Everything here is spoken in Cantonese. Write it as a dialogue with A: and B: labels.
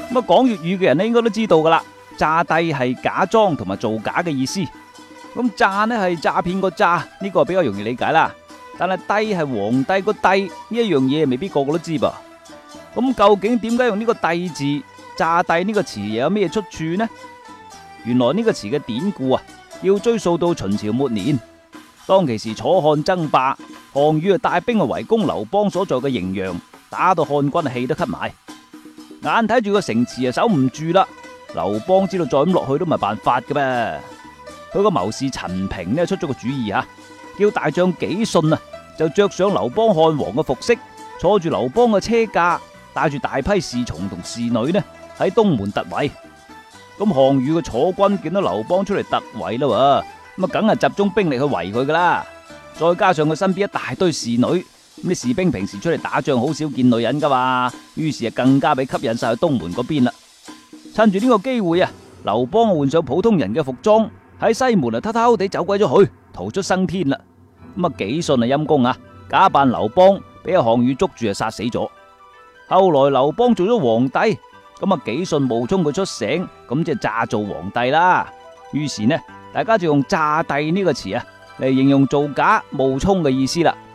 A: 咁講粵語嘅人咧，應該都知道噶啦，詐帝係假裝同埋造假嘅意思。咁詐呢係詐騙個詐，呢個比較容易理解啦。但係帝係皇帝個帝呢一樣嘢，未必個個都知噃。咁究竟點解用呢個帝字詐帝呢個詞又有咩出處呢？原來呢個詞嘅典故啊，要追溯到秦朝末年，當其時楚漢爭霸，項羽帶兵去圍攻劉邦所在嘅滎陽，打到漢軍氣都咳埋，眼睇住個城池啊守唔住啦。劉邦知道再咁落去都唔係辦法嘅噃，佢個謀士陳平呢出咗個主意啊，叫大將紀信啊就着上劉邦漢王嘅服飾，坐住劉邦嘅車駕，帶住大批侍從同侍女呢喺東門突圍。咁項羽嘅楚軍見到劉邦出嚟突圍啦，咁啊梗係集中兵力去圍佢噶啦。再加上佢身邊一大堆侍女，咁啲士兵平時出嚟打仗好少見女人噶嘛，於是啊更加被吸引晒去東門嗰邊啦。趁住呢個機會啊，劉邦換上普通人嘅服裝，喺西門啊偷偷地走鬼咗去，逃出生天啦。咁啊紀信啊陰公啊，假扮劉邦，俾阿項羽捉住啊殺死咗。後來劉邦做咗皇帝，咁啊紀信冒充佢出城，咁即係詐做皇帝啦。於是呢，大家就用詐帝呢個詞啊嚟形容造假冒充嘅意思啦。